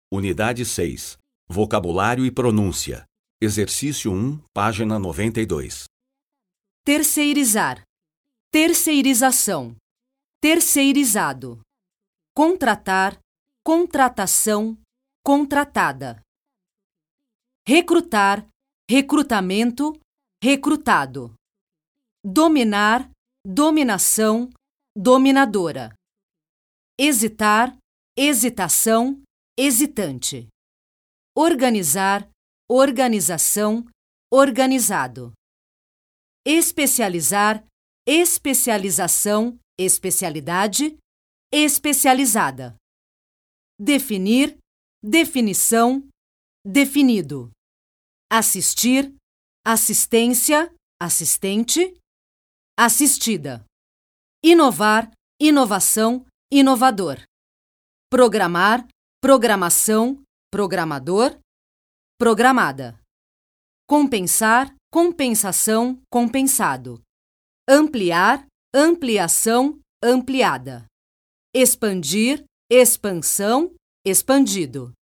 Unidade 6. Vocabulário e pronúncia. Exercício 1, página 92. Terceirizar, terceirização, terceirizado. Contratar, contratação, contratada. Recrutar, recrutamento, recrutado. Dominar, dominação, dominadora. Hesitar, hesitação, hesitante. Organizar, organização, organizado. Especializar, especialização, especialidade, especializada. Definir, definição, definido. Assistir, assistência, assistente, assistida. Inovar, inovação, inovador. Programar, programação, programador, programada. Compensar, compensação, compensado. Ampliar, ampliação, ampliada. Expandir, expansão, expandido.